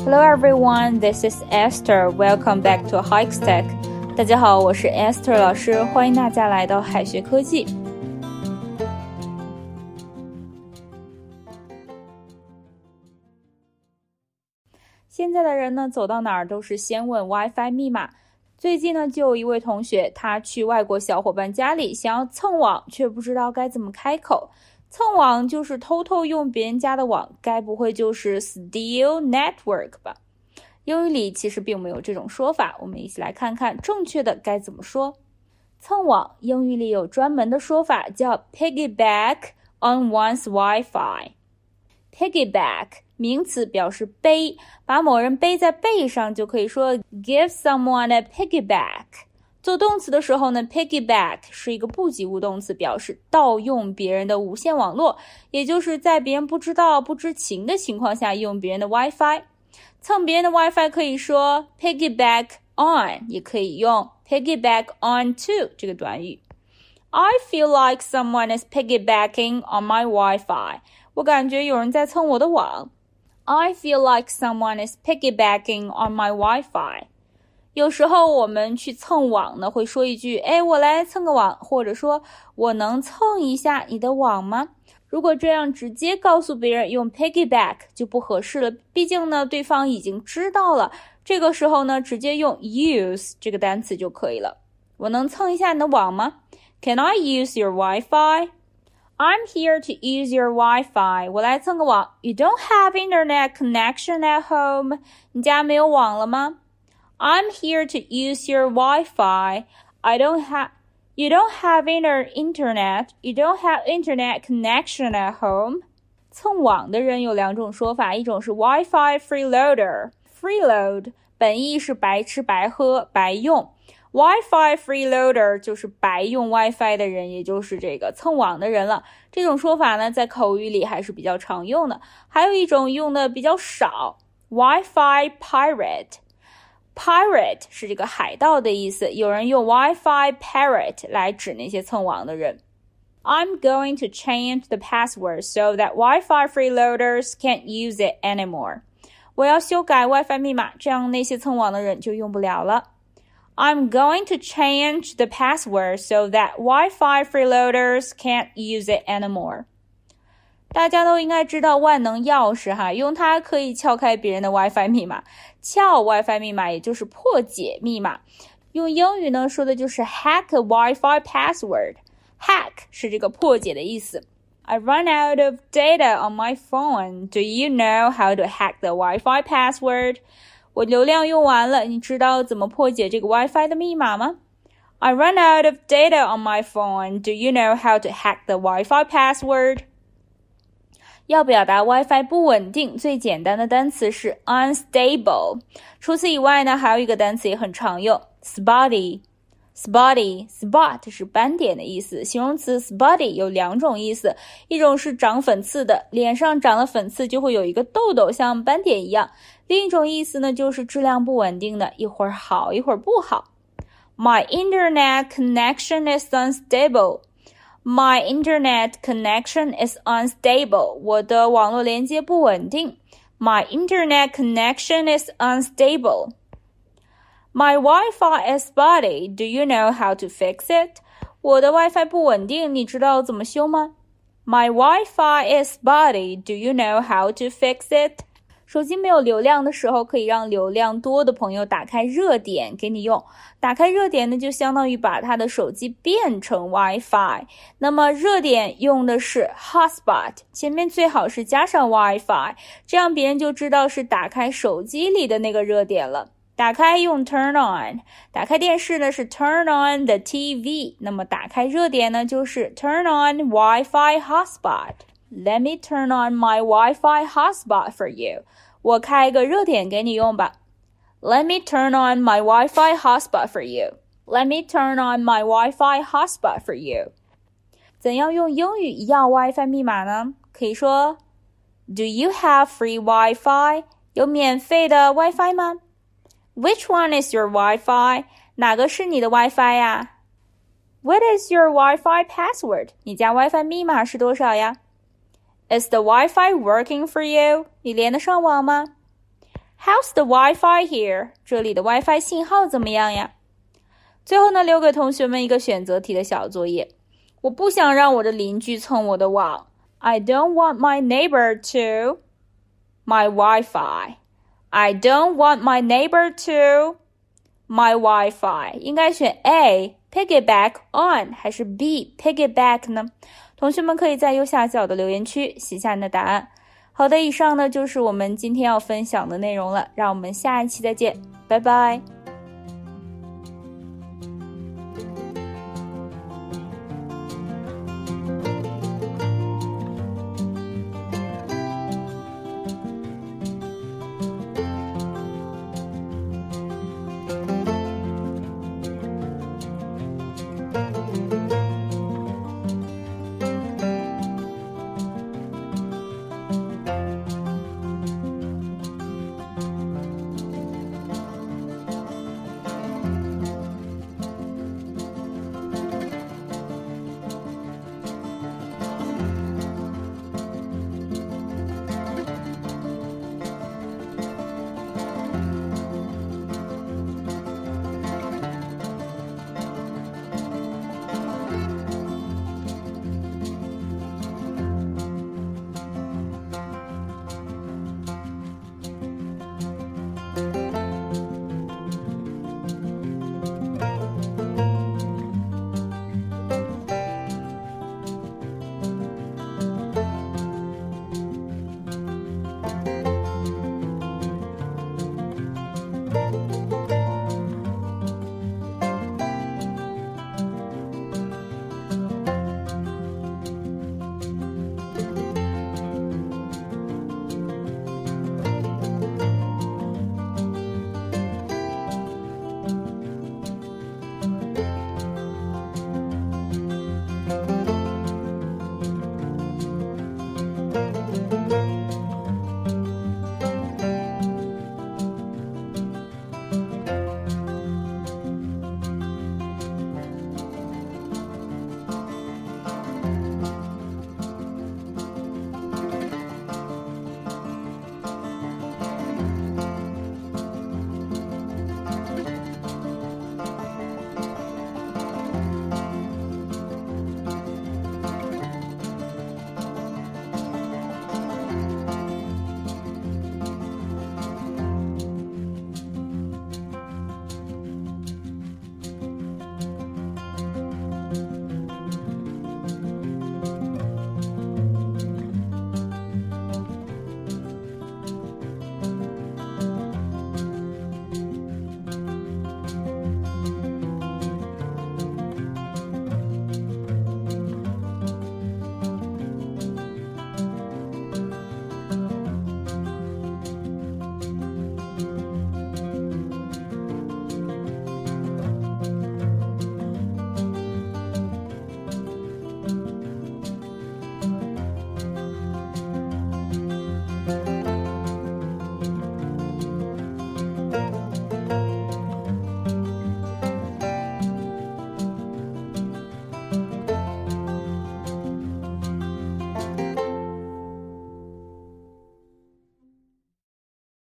Hello everyone, this is Esther. Welcome back to Hikes-Tech. 大家好，我是 Esther 老师，欢迎大家来到海学科技。现在的人呢，走到哪儿都是先问 WiFi 密码。最近呢，就有一位同学，他去外国小伙伴家里想要蹭网，却不知道该怎么开口。蹭网就是偷偷用别人家的网，该不会就是 steal network 吧？英语里其实并没有这种说法，我们一起来看看正确的该怎么说。蹭网，英语里有专门的说法叫 piggyback on one's Wi-Fi。piggyback 名词表示背，把某人背在背上就可以说 give someone a piggyback。做动词的时候呢 piggyback 是一个不及物动词，表示盗用别人的无线网络，也就是在别人不知道不知情的情况下用别人的 WiFi。 蹭别人的 WiFi 可以说 piggyback on， 也可以用 piggyback onto 这个短语。 I feel like someone is piggybacking on my Wi-Fi。 我感觉有人在蹭我的网。 I feel like someone is piggybacking on my Wi-Fi。有时候我们去蹭网呢，会说一句我来蹭个网，或者说我能蹭一下你的网吗？如果这样直接告诉别人用 piggyback 就不合适了，毕竟呢对方已经知道了。这个时候呢直接用 use 这个单词就可以了。我能蹭一下你的网吗？ Can I use your Wi-Fi? I'm here to use your Wi-Fi. 我来蹭个网。 You don't have internet connection at home. 你家没有网了吗？I'm here to use your Wi-Fi. You don't have internet. You don't have internet connection at home. 蹭网的人有两种说法，一种是 Wi-Fi freeloader。freeload 本意是白吃白喝白用， Wi-Fi freeloader 就是白用 WiFi 的人，也就是这个蹭网的人了。这种说法呢，在口语里还是比较常用的。还有一种用的比较少， Wi-Fi pirate。Pirate 是这个海盗的意思，有人用 Wi-Fi pirate 来指那些蹭网的人。I'm going to change the password so that Wi-Fi freeloaders can't use it anymore. 我要修改 Wi-Fi 密码，这样那些蹭网的人就用不了了。I'm going to change the password so that Wi-Fi freeloaders can't use it anymore. 大家都应该知道万能钥匙哈，用它可以撬开别人的 WiFi 密码。撬 WiFi 密码也就是破解密码，用英语呢说的就是 hack a Wi-Fi password。 hack 是这个破解的意思。 I run out of data on my phone. Do you know how to hack the Wi-Fi password? 我流量用完了，你知道怎么破解这个 WiFi 的密码吗？ I run out of data on my phone. Do you know how to hack the Wi-Fi password?要表达 WiFi 不稳定，最简单的单词是 unstable。 除此以外呢，还有一个单词也很常用 spot 是斑点的意思，形容词 spotty 有两种意思，一种是长粉刺的，脸上长了粉刺就会有一个痘痘像斑点一样，另一种意思呢就是质量不稳定的，一会儿好一会儿不好。 My internet connection is unstable.My internet connection is unstable. 我的网络连接不稳定。My internet connection is unstable. My Wi-Fi is spotty. Do you know how to fix it? 我的 WiFi 不稳定，你知道怎么修吗？ My Wi-Fi is spotty. Do you know how to fix it?手机没有流量的时候，可以让流量多的朋友打开热点给你用。打开热点呢，就相当于把他的手机变成 WiFi。那么热点用的是 hotspot， 前面最好是加上 WiFi， 这样别人就知道是打开手机里的那个热点了。打开用 turn on， 打开电视呢是 turn on the TV， 那么打开热点呢就是 turn on Wi-Fi hotspot。Let me turn on my Wi-Fi hotspot for you. 我开个热点给你用吧。Let me turn on my Wi-Fi hotspot for you. Let me turn on my Wi-Fi hotspot for you. 怎样用英语要 WiFi 密码呢？可以说 Do you have free Wi-Fi? 有免费的 WiFi 吗？ Which one is your Wi-Fi? 哪个是你的 WiFi 呀？ What is your Wi-Fi password? 你家 WiFi 密码是多少呀？Is the Wi-Fi working for you? 你连得上网吗？ How's the Wi-Fi here? 这里的 Wi-Fi 信号怎么样呀？最后呢，留给同学们一个选择题的小作业。我不想让我的邻居蹭我的网。I don't want my neighbor to my Wi-Fi. I don't want my neighbor to my Wi-Fi. 应该选 A, piggyback on 还是 B, piggyback 呢？同学们可以在右下角的留言区写下你的答案。好的，以上呢就是我们今天要分享的内容了，让我们下一期再见，拜拜。